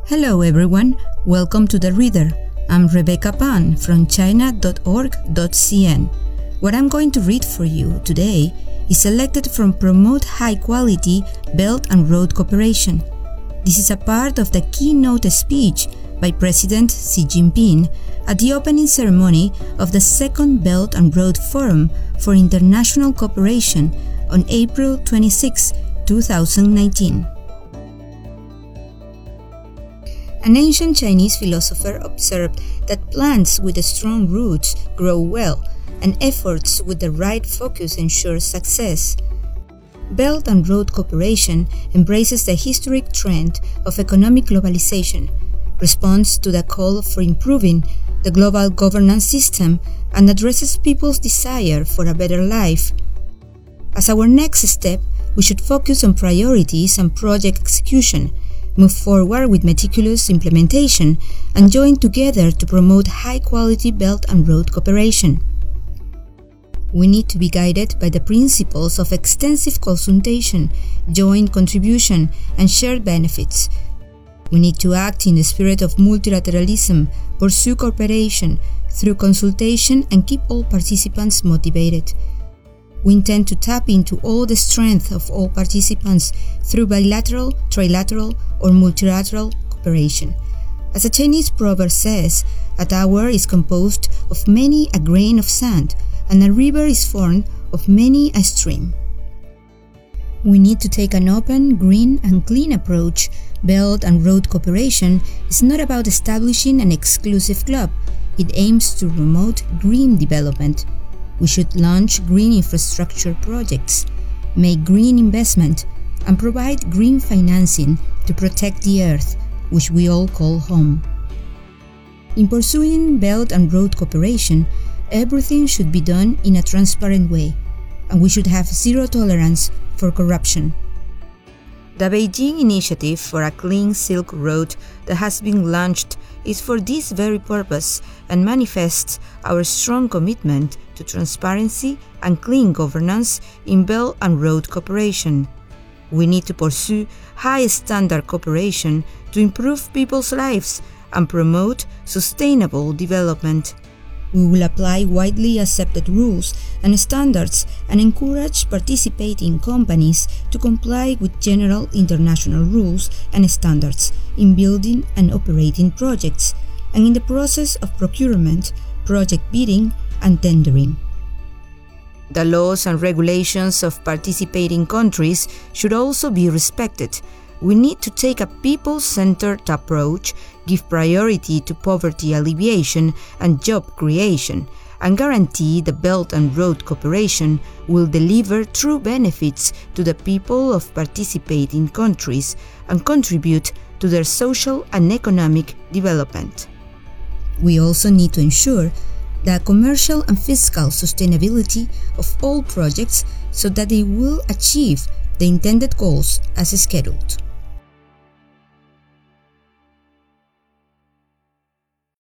Hello everyone, welcome to The Reader. I'm Rebecca Pan from china.org.cn. What I'm going to read for you today is selected from Promote High Quality Belt and Road Cooperation. This is a part of the keynote speech by President Xi Jinping at the opening ceremony of the Second Belt and Road Forum for International Cooperation on April 26, 2019. An ancient Chinese philosopher observed that plants with strong roots grow well, and efforts with the right focus ensure success. Belt and Road Cooperation embraces the historic trend of economic globalization, responds to the call for improving the global governance system, and addresses people's desire for a better life. As our next step, we should focus on priorities and project execution, move forward with meticulous implementation, and join together to promote high-quality Belt and Road Cooperation. We need to be guided by the principles of extensive consultation, joint contribution, and shared benefits. We need to act in the spirit of multilateralism, pursue cooperation through consultation, and keep all participants motivated. We intend to tap into all the strength of all participants through bilateral, trilateral, or multilateral cooperation. As a Chinese proverb says, a tower is composed of many a grain of sand, and a river is formed of many a stream. We need to take an open, green, and clean approach. Belt and Road Cooperation is not about establishing an exclusive club. It aims to promote green development. We should launch green infrastructure projects, make green investment, and provide green financing to protect the earth, which we all call home. In pursuing Belt and Road Cooperation, everything should be done in a transparent way, and we should have zero tolerance for corruption. The Beijing Initiative for a Clean Silk Road that has been launched is for this very purpose and manifests our strong commitment to transparency and clean governance in Belt and Road Cooperation. We need to pursue high-standard cooperation to improve people's lives and promote sustainable development. We will apply widely accepted rules and standards and encourage participating companies to comply with general international rules and standards in building and operating projects, and in the process of procurement, project bidding, and tendering. The laws and regulations of participating countries should also be respected. We need to take a people-centered approach, give priority to poverty alleviation and job creation, and guarantee the Belt and Road Cooperation will deliver true benefits to the people of participating countries and contribute to their social and economic development. We also need to ensure the commercial and fiscal sustainability of all projects so that they will achieve the intended goals as scheduled.